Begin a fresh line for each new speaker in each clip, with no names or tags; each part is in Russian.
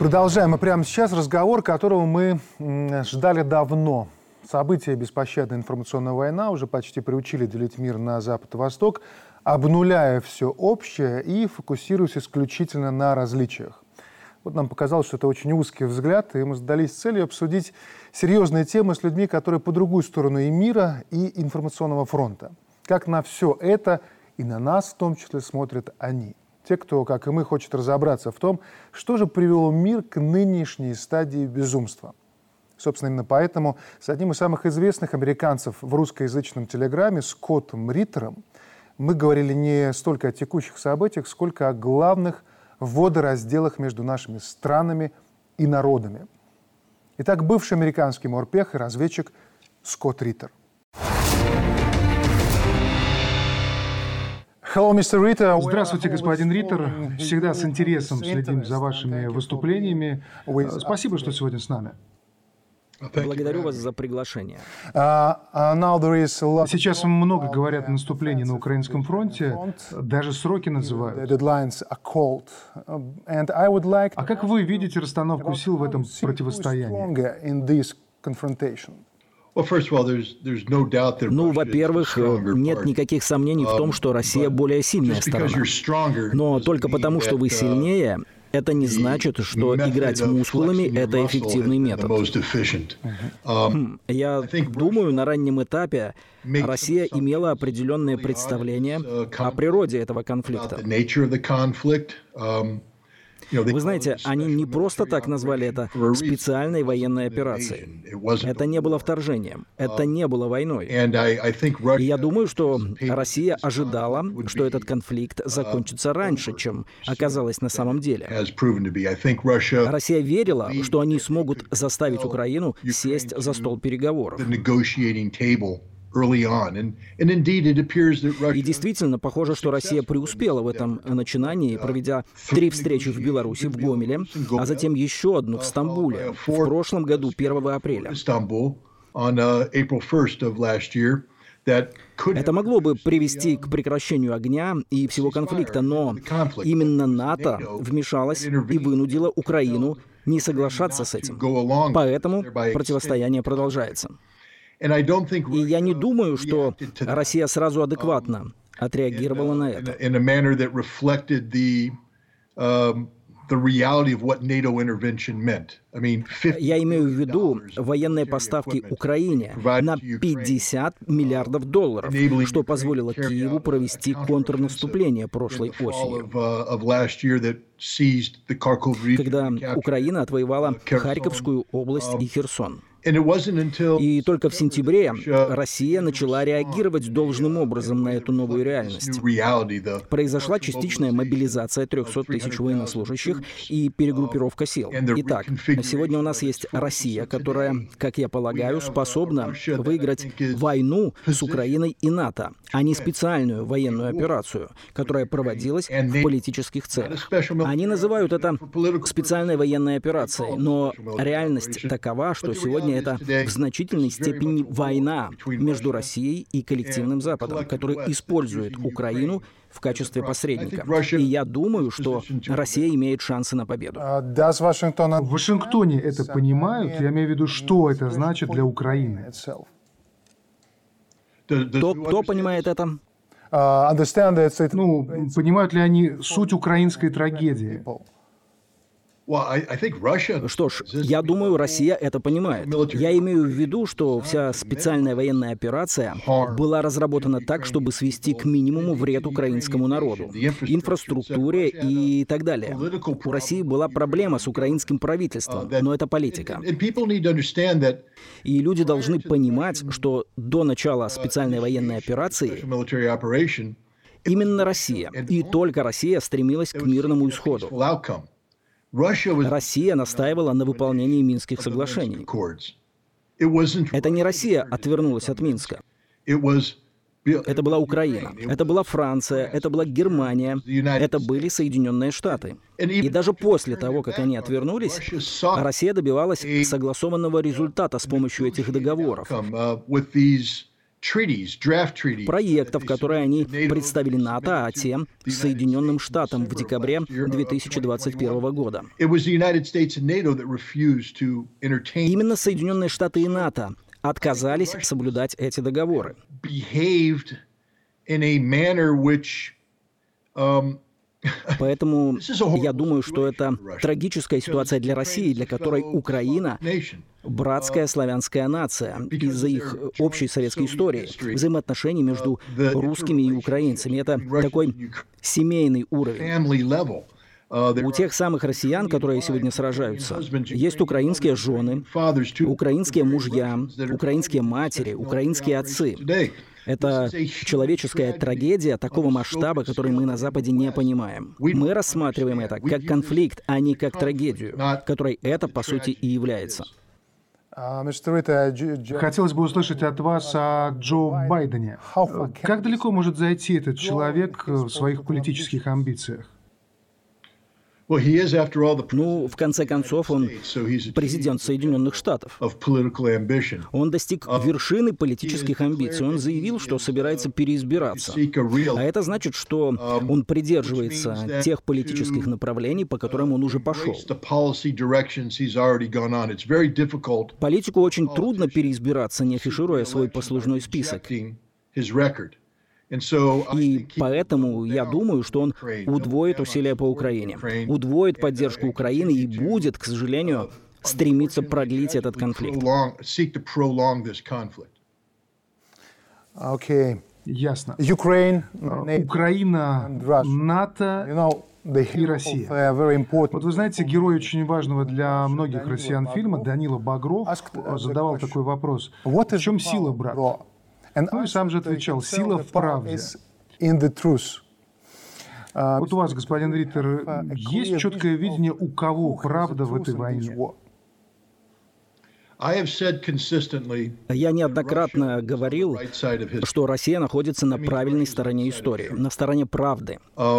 Продолжаем мы прямо сейчас разговор, которого мы ждали давно. События беспощадная информационная война уже почти приучили делить мир на Запад и Восток, обнуляя все общее и фокусируясь исключительно на различиях. Вот нам показалось, что это очень узкий взгляд, и мы задались целью обсудить серьезные темы с людьми, которые по другую сторону и мира, и информационного фронта. Как на все это и на нас в том числе смотрят они. Те, кто, как и мы, хочет разобраться в том, что же привело мир к нынешней стадии безумства. Собственно, именно поэтому с одним из самых известных американцев в русскоязычном телеграме, Скоттом Риттером, мы говорили не столько о текущих событиях, сколько о главных водоразделах между нашими странами и народами. Итак, бывший американский морпех и разведчик Скотт Риттер.
Здравствуйте, господин Риттер. Всегда с интересом следим за вашими выступлениями. Спасибо, что сегодня с нами.
Благодарю вас за приглашение.
Сейчас много говорят о наступлении на украинском фронте, даже сроки называют. А как вы видите расстановку сил в этом противостоянии?
Ну, во-первых, нет никаких сомнений в том, что Россия более сильная сторона. Но только потому, что вы сильнее, это не значит, что играть мускулами – это эффективный метод. Я думаю, на раннем этапе Россия имела определенное представление о природе этого конфликта. Вы знаете, они не просто так назвали это специальной военной операцией. Это не было вторжением, это не было войной. И я думаю, что Россия ожидала, что этот конфликт закончится раньше, чем оказалось на самом деле. Россия верила, что они смогут заставить Украину сесть за стол переговоров. И действительно, похоже, что Россия преуспела в этом начинании, проведя 3 встречи в Беларуси, в Гомеле, а затем еще одну в Стамбуле в прошлом году, 1 апреля. Это могло бы привести к прекращению огня и всего конфликта, но именно НАТО вмешалось и вынудило Украину не соглашаться с этим. Поэтому противостояние продолжается. И я не думаю, что Россия сразу адекватно отреагировала на это. Я имею в виду военные поставки Украине на $50 миллиардов, что позволило Киеву провести контрнаступление прошлой осенью, когда Украина отвоевала Харьковскую область и Херсон. И только в сентябре Россия начала реагировать должным образом на эту новую реальность. Произошла частичная мобилизация 300 тысяч военнослужащих и перегруппировка сил. Итак, сегодня у нас есть Россия, которая, как я полагаю, способна выиграть войну с Украиной и НАТО, а не специальную военную операцию, которая проводилась в политических целях. Они называют это специальной военной операцией, но реальность такова, что сегодня это в значительной степени война между Россией и коллективным Западом, который использует Украину в качестве посредника. И я думаю, что Россия имеет шансы на победу.
В Вашингтоне это понимают? Я имею в виду, что это значит для Украины?
Кто понимает это?
Понимают ли они суть украинской трагедии?
Что ж, я думаю, Россия это понимает. Я имею в виду, что вся специальная военная операция была разработана так, чтобы свести к минимуму вред украинскому народу, инфраструктуре и так далее. У России была проблема с украинским правительством, но это политика. И люди должны понимать, что до начала специальной военной операции именно Россия, и только Россия стремилась к мирному исходу. Россия настаивала на выполнении Минских соглашений. Это не Россия отвернулась от Минска. Это была Украина, это была Франция, это была Германия, это были Соединенные Штаты. И даже после того, как они отвернулись, Россия добивалась согласованного результата с помощью этих договоров. проектов, которые они представили НАТО, а те — Соединенным Штатам в декабре 2021 года. Именно Соединенные Штаты и НАТО отказались соблюдать эти договоры. Поэтому я думаю, что это трагическая ситуация для России, для которой Украина — братская славянская нация из-за их общей советской истории, взаимоотношений между русскими и украинцами. Это такой семейный уровень. У тех самых россиян, которые сегодня сражаются, есть украинские жены, украинские мужья, украинские матери, украинские отцы. Это человеческая трагедия такого масштаба, который мы на Западе не понимаем. Мы рассматриваем это как конфликт, а не как трагедию, которой это, по сути, и является.
Хотелось бы услышать от вас о Джо Байдене. Как далеко может зайти этот человек в своих политических амбициях?
Ну, в конце концов, он президент Соединенных Штатов. Он достиг вершины политических амбиций. Он заявил, что собирается переизбираться. А это значит, что он придерживается тех политических направлений, по которым он уже пошел. Политику очень трудно переизбираться, не афишируя свой послужной список. И поэтому я думаю, что он удвоит усилия по Украине, удвоит поддержку Украины и будет, к сожалению, стремиться продлить этот конфликт.
Ясно. Украина, НАТО и Россия. Вот вы знаете, герой очень важного для многих россиян фильма Данила Багров задавал такой вопрос. В чем сила, брат? Ну и сам же отвечал: сила в правде. Вот у вас, господин Риттер, есть четкое видение, у кого правда в этой войне?
Я неоднократно говорил, что Россия находится на правильной стороне истории, на стороне правды.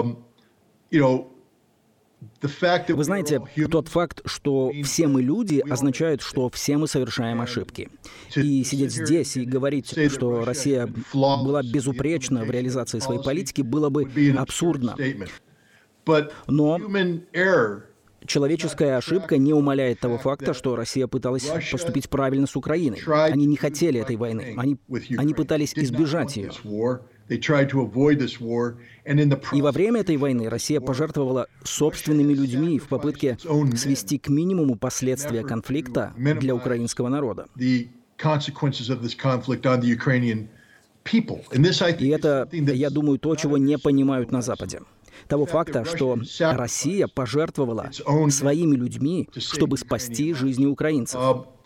Вы знаете, тот факт, что все мы люди, означает, что все мы совершаем ошибки. И сидеть здесь и говорить, что Россия была безупречна в реализации своей политики, было бы абсурдно. Но человеческая ошибка не умаляет того факта, что Россия пыталась поступить правильно с Украиной. Они не хотели этой войны. Они пытались избежать ее. И во время этой войны Россия пожертвовала собственными людьми в попытке свести к минимуму последствия конфликта для украинского народа. И это, я думаю, то, чего не понимают на Западе. Того факта, что Россия пожертвовала своими людьми, чтобы спасти жизни украинцев.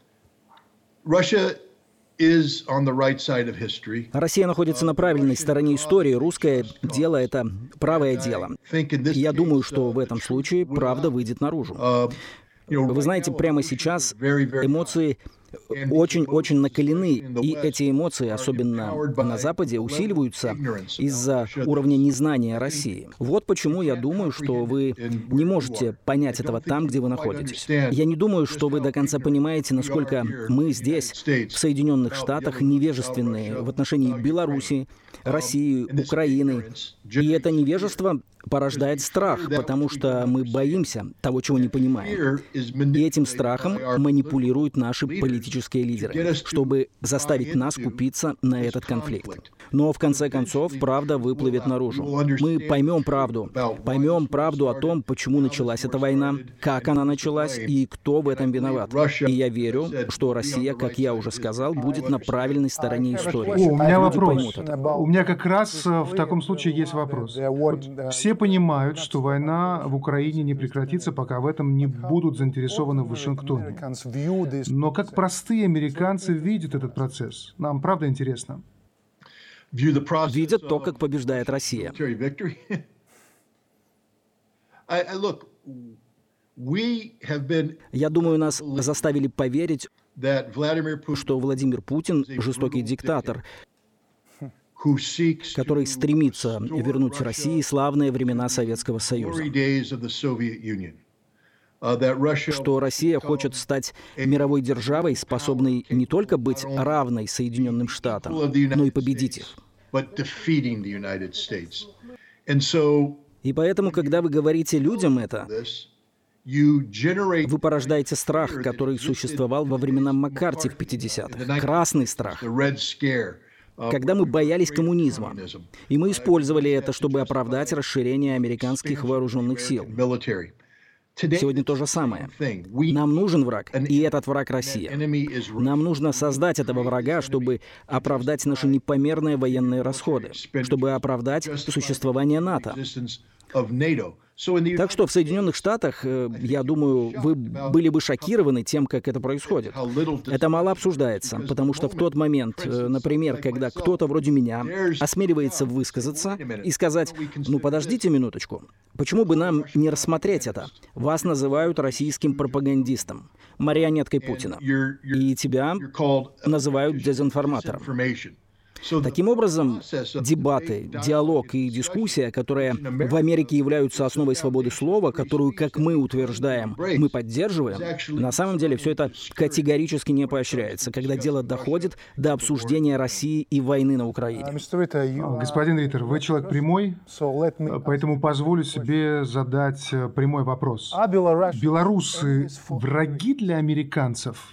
Россия находится на правильной стороне истории. Русское дело — это правое дело. И я думаю, что в этом случае правда выйдет наружу. Вы знаете, прямо сейчас эмоции очень-очень накалены, и эти эмоции, особенно на Западе, усиливаются из-за уровня незнания России. Вот почему я думаю, что вы не можете понять этого там, где вы находитесь. Я не думаю, что вы до конца понимаете, насколько мы здесь, в Соединенных Штатах, невежественные в отношении Беларуси, России, Украины. И это невежество порождает страх, потому что мы боимся того, чего не понимаем. И этим страхом манипулируют наши политические лидеры, чтобы заставить нас купиться на этот конфликт. Но в конце концов правда выплывет наружу. Мы поймем правду о том, почему началась эта война, как она началась и кто в этом виноват. И я верю, что Россия, как я уже сказал, будет на правильной стороне истории.
У меня вопрос. У меня как раз в таком случае есть вопрос. Вот все понимают, что война в Украине не прекратится, пока в этом не будут заинтересованы в Вашингтоне. Но как простые американцы видят этот процесс? Нам правда интересно.
Видят то, как побеждает Россия. Я думаю, нас заставили поверить, что Владимир Путин — жестокий диктатор, который стремится вернуть России славные времена Советского Союза. что Россия хочет стать мировой державой, способной не только быть равной Соединенным Штатам, но и победить их. И поэтому, когда вы говорите людям это, вы порождаете страх, который существовал во времена Маккарти в 50-х. Красный страх. Когда мы боялись коммунизма. И мы использовали это, чтобы оправдать расширение американских вооруженных сил. Сегодня то же самое. Нам нужен враг, и этот враг — Россия. Нам нужно создать этого врага, чтобы оправдать наши непомерные военные расходы, чтобы оправдать существование НАТО. Так что в Соединенных Штатах, я думаю, вы были бы шокированы тем, как это происходит. Это мало обсуждается, потому что в тот момент, например, когда кто-то вроде меня осмеливается высказаться и сказать: «Ну, подождите минуточку, почему бы нам не рассмотреть это? Вас называют российским пропагандистом, марионеткой Путина, и тебя называют дезинформатором». Таким образом, дебаты, диалог и дискуссия, которые в Америке являются основой свободы слова, которую, как мы утверждаем, мы поддерживаем, на самом деле все это категорически не поощряется, когда дело доходит до обсуждения России и войны на Украине.
Господин Риттер, вы человек прямой, поэтому позволю себе задать прямой вопрос. Белорусы враги для американцев?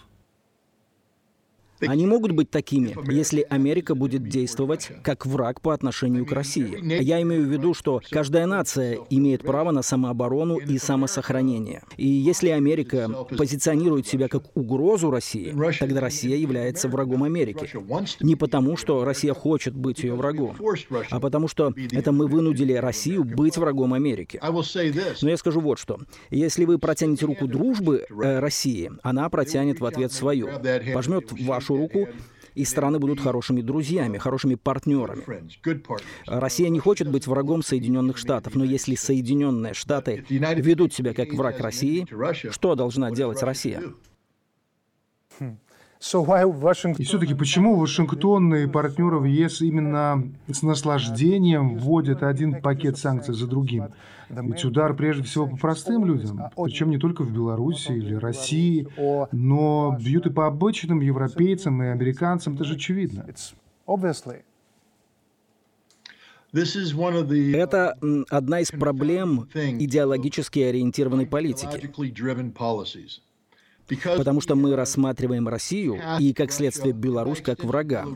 Они могут быть такими, если Америка будет действовать как враг по отношению к России. Я имею в виду, что каждая нация имеет право на самооборону и самосохранение. И если Америка позиционирует себя как угрозу России, тогда Россия является врагом Америки. Не потому, что Россия хочет быть ее врагом, а потому что это мы вынудили Россию быть врагом Америки. Но я скажу вот что. Если вы протянете руку дружбы России, она протянет в ответ свою. Пожмет вашу руку, и страны будут хорошими друзьями, хорошими партнерами. Россия не хочет быть врагом Соединенных Штатов, но если Соединенные Штаты ведут себя как враг России, что должна делать Россия?
И все-таки почему Вашингтон и партнеры в ЕС именно с наслаждением вводят один пакет санкций за другим? Ведь удар прежде всего по простым людям, причем не только в Беларуси или России, но бьют и по обычным европейцам и американцам, это же очевидно.
Это одна из проблем идеологически ориентированной политики. Потому что мы рассматриваем Россию и, как следствие, Беларусь как врага.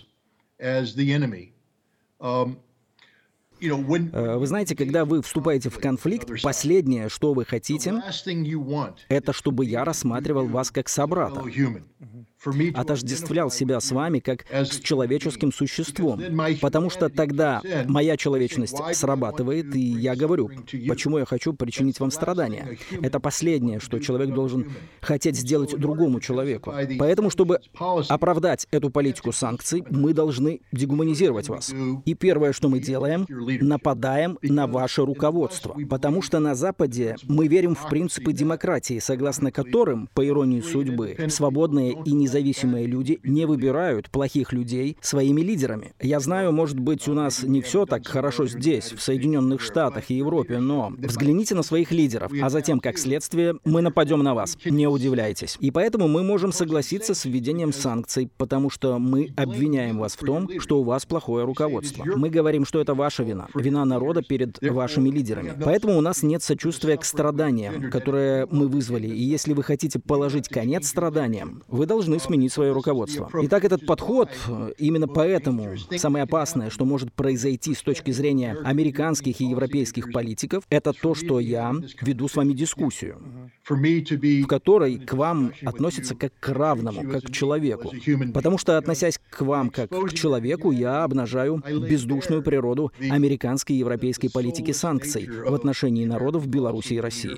Вы знаете, когда вы вступаете в конфликт, последнее, что вы хотите, это чтобы я рассматривал вас как собрата, отождествлял себя с вами как с человеческим существом, потому что тогда моя человечность срабатывает, и я говорю, почему я хочу причинить вам страдания. Это последнее, что человек должен хотеть сделать другому человеку. Поэтому, чтобы оправдать эту политику санкций, мы должны дегуманизировать вас. И первое, что мы делаем, нападаем на ваше руководство, потому что на Западе мы верим в принципы демократии, согласно которым, по иронии судьбы, свободные и независимые люди не выбирают плохих людей своими лидерами. Я знаю, может быть, у нас не все так хорошо здесь, в Соединенных Штатах и Европе, но взгляните на своих лидеров, а затем, как следствие, мы нападем на вас. Не удивляйтесь. И поэтому мы можем согласиться с введением санкций, потому что мы обвиняем вас в том, что у вас плохое руководство. Мы говорим, что это ваша вина. Вина народа перед вашими лидерами. Поэтому у нас нет сочувствия к страданиям, которые мы вызвали. И если вы хотите положить конец страданиям, вы должны сменить свое руководство. Итак, этот подход, именно поэтому самое опасное, что может произойти с точки зрения американских и европейских политиков, это то, что я веду с вами дискуссию, в которой к вам относятся как к равному, как к человеку. Потому что, относясь к вам как к человеку, я обнажаю бездушную природу американской и европейской политики санкций в отношении народов Беларуси и России.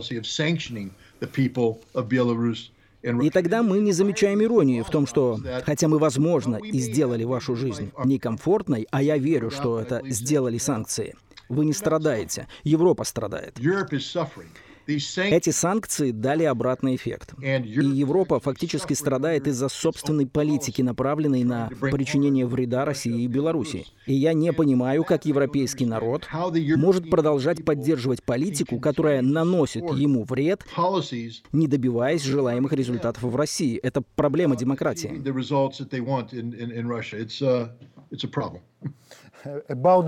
И тогда мы не замечаем иронии в том, что, хотя мы, возможно, и сделали вашу жизнь некомфортной, а я верю, что это сделали санкции, вы не страдаете, Европа страдает. Эти санкции дали обратный эффект. И Европа фактически страдает из-за собственной политики, направленной на причинение вреда России и Беларуси. И я не понимаю, как европейский народ может продолжать поддерживать политику, которая наносит ему вред, не добиваясь желаемых результатов в России. Это проблема демократии.
О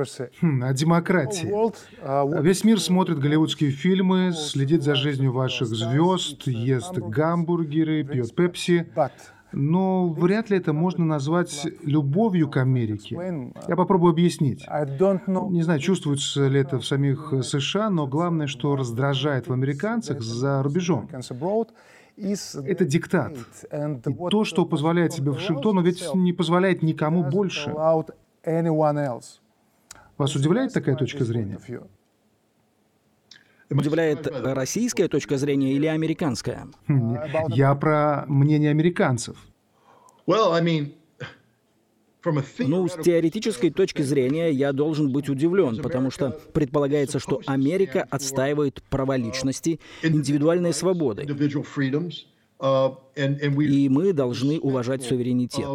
демократии. Весь мир смотрит голливудские фильмы, следит за жизнью ваших звезд, ест гамбургеры, пьет пепси. Но вряд ли это можно назвать любовью к Америке. Я попробую объяснить. Не знаю, чувствуется ли это в самих США, но главное, что раздражает в американцах за рубежом. Это диктат. И то, что позволяет себе Вашингтону, ведь не позволяет никому больше. Вас удивляет такая точка зрения?
Удивляет российская точка зрения или американская?
Я про мнение американцев.
Ну, с теоретической точки зрения я должен быть удивлен, потому что предполагается, что Америка отстаивает права личности, индивидуальные свободы, и мы должны уважать суверенитет.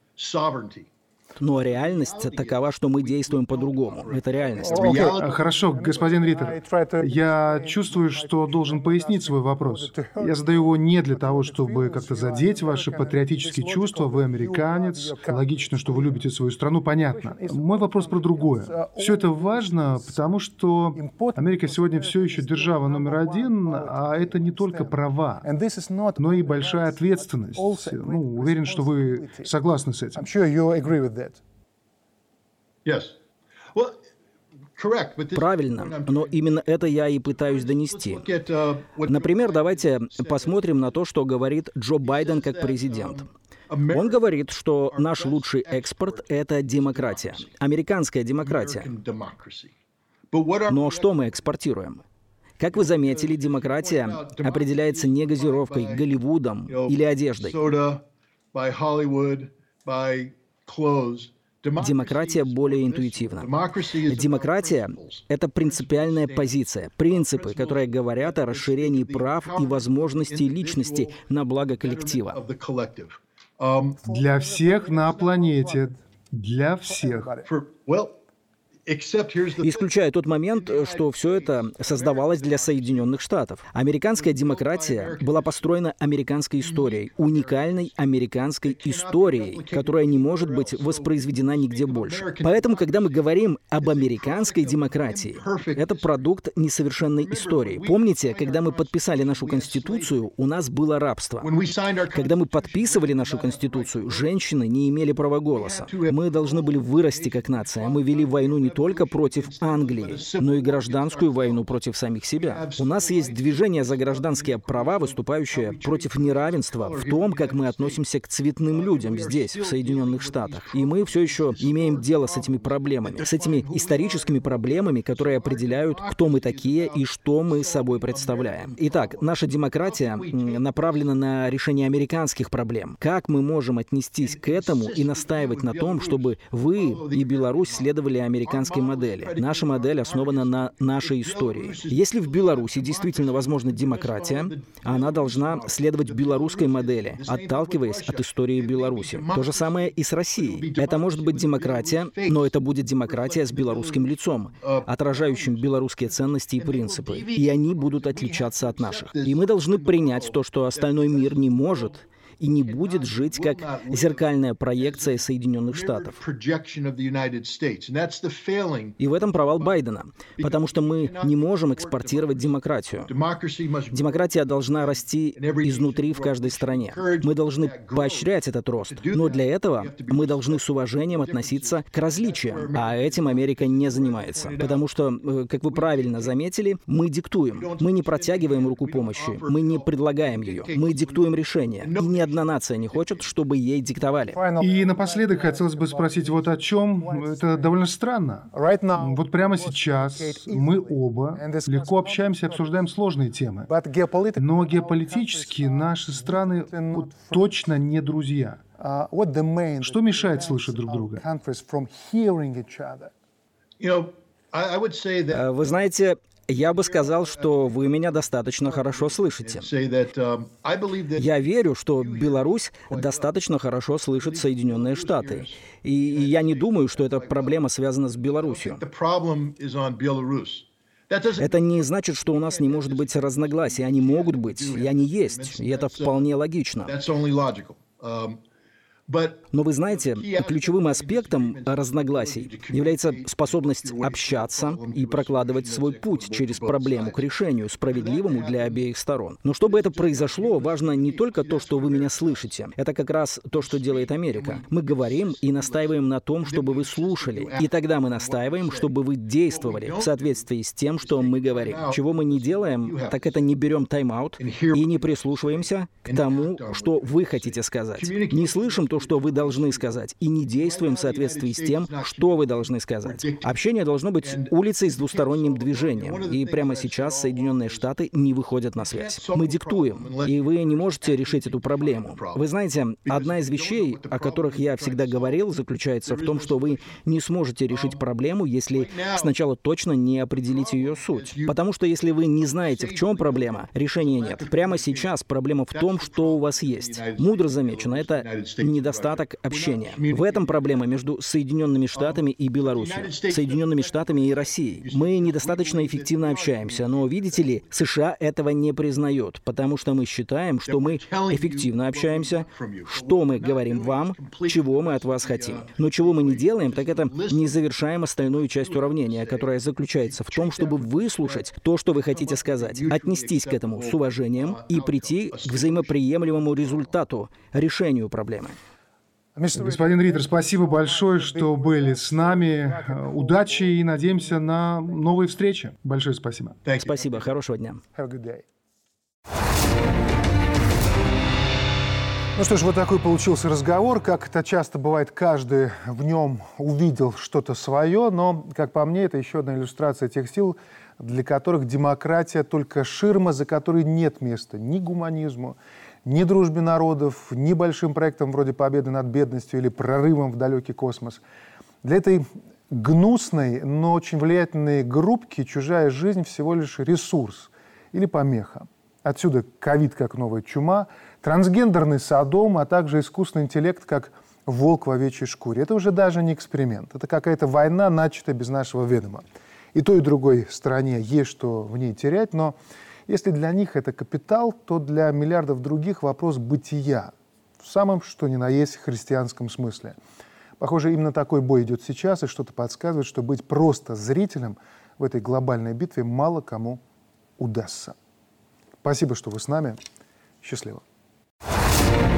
Но реальность такова, что мы действуем по-другому. Это реальность.
Хорошо, господин Риттер. Я чувствую, что должен пояснить свой вопрос. Я задаю его не для того, чтобы как-то задеть ваши патриотические чувства. Вы американец. Логично, что вы любите свою страну. Понятно. Мой вопрос про другое. Все это важно, потому что Америка сегодня все еще держава номер один, а это не только права, но и большая ответственность. Уверен, что вы согласны с этим.
Правильно, но именно это я и пытаюсь донести. Например, давайте посмотрим на то, что говорит Джо Байден как президент. Он говорит, что наш лучший экспорт — это демократия, американская демократия. Но что мы экспортируем? Как вы заметили, демократия определяется не газировкой, Голливудом или одеждой. Демократия более интуитивна. Демократия — это принципиальная позиция, принципы, которые говорят о расширении прав и возможностей личности на благо коллектива.
Для всех на планете. Для всех.
Исключая тот момент, что все это создавалось для Соединенных Штатов. Американская демократия была построена американской историей, уникальной американской историей, которая не может быть воспроизведена нигде больше. Поэтому, когда мы говорим об американской демократии, это продукт несовершенной истории. Помните, когда мы подписали нашу Конституцию, у нас было рабство. Когда мы подписывали нашу Конституцию, женщины не имели права голоса. Мы должны были вырасти как нация. Мы вели войну не только против Англии, но и гражданскую войну против самих себя. У нас есть движение за гражданские права, выступающее против неравенства в том, как мы относимся к цветным людям здесь, в Соединенных Штатах. И мы все еще имеем дело с этими проблемами, с этими историческими проблемами, которые определяют, кто мы такие и что мы собой представляем. Итак, наша демократия направлена на решение американских проблем. Как мы можем отнестись к этому и настаивать на том, чтобы вы и Беларусь следовали американской модели? Наша модель основана на нашей истории. Если в Беларуси действительно возможна демократия, она должна следовать белорусской модели, отталкиваясь от истории Беларуси. То же самое и с Россией. Это может быть демократия, но это будет демократия с белорусским лицом, отражающим белорусские ценности и принципы. И они будут отличаться от наших. И мы должны принять то, что остальной мир не может и не будет жить как зеркальная проекция Соединенных Штатов. И в этом провал Байдена, потому что мы не можем экспортировать демократию. Демократия должна расти изнутри в каждой стране. Мы должны поощрять этот рост, но для этого мы должны с уважением относиться к различиям, а этим Америка не занимается. Потому что, как вы правильно заметили, мы диктуем. Мы не протягиваем руку помощи, мы не предлагаем ее, мы диктуем решения. И ни одна нация не хочет, чтобы ей диктовали.
И напоследок хотелось бы спросить вот о чем. Это довольно странно. Вот прямо сейчас мы оба легко общаемся и обсуждаем сложные темы. Но геополитически наши страны точно не друзья. Что мешает слышать друг друга?
Вы знаете, Я бы сказал, что вы меня достаточно хорошо слышите. Я верю, что Беларусь достаточно хорошо слышит Соединенные Штаты. И я не думаю, что эта проблема связана с Беларусью. Это не значит, что у нас не может быть разногласий. Они могут быть, и они есть. И это вполне логично. Но вы знаете, ключевым аспектом разногласий является способность общаться и прокладывать свой путь через проблему к решению, справедливому для обеих сторон. Но чтобы это произошло, важно не только то, что вы меня слышите. Это как раз то, что делает Америка. Мы говорим и настаиваем на том, чтобы вы слушали. И тогда мы настаиваем, чтобы вы действовали в соответствии с тем, что мы говорим. Чего мы не делаем, так это не берем тайм-аут и не прислушиваемся к тому, что вы хотите сказать. Не слышим то, что вы должны сказать, и не действуем в соответствии с тем, что вы должны сказать. Общение должно быть улицей с двусторонним движением, и прямо сейчас Соединенные Штаты не выходят на связь. Мы диктуем, и вы не можете решить эту проблему. Вы знаете, одна из вещей, о которых я всегда говорил, заключается в том, что вы не сможете решить проблему, если сначала точно не определите ее суть. Потому что если вы не знаете, в чем проблема, решения нет. Прямо сейчас проблема в том, что у вас есть. Мудро замечено, это недостаток общения. В этом проблема между Соединенными Штатами и Беларусью, Соединенными Штатами и Россией. Мы недостаточно эффективно общаемся, но, видите ли, США этого не признают, потому что мы считаем, что мы эффективно общаемся, что мы говорим вам, чего мы от вас хотим. Но чего мы не делаем, так это не завершаем остальную часть уравнения, которая заключается в том, чтобы выслушать то, что вы хотите сказать, отнестись к этому с уважением и прийти к взаимоприемлемому результату, решению проблемы.
Господин Риттер, спасибо большое, что были с нами. Удачи и надеемся на новые встречи. Большое спасибо.
Спасибо. Хорошего дня.
Ну что ж, вот такой получился разговор. Как это часто бывает, каждый в нем увидел что-то свое, но, как по мне, это еще одна иллюстрация тех сил, для которых демократия только ширма, за которой нет места ни гуманизму, ни дружбе народов, ни большим проектам вроде победы над бедностью или прорывом в далекий космос. Для этой гнусной, но очень влиятельной группки чужая жизнь всего лишь ресурс или помеха. Отсюда ковид как новая чума, трансгендерный содом, а также искусственный интеллект как волк в овечьей шкуре. Это уже даже не эксперимент. Это какая-то война, начатая без нашего ведома. И той, и другой стороне есть что в ней терять, но если для них это капитал, то для миллиардов других вопрос бытия, в самом что ни на есть христианском смысле. Похоже, именно такой бой идет сейчас, и что-то подсказывает, что быть просто зрителем в этой глобальной битве мало кому удастся. Спасибо, что вы с нами. Счастливо.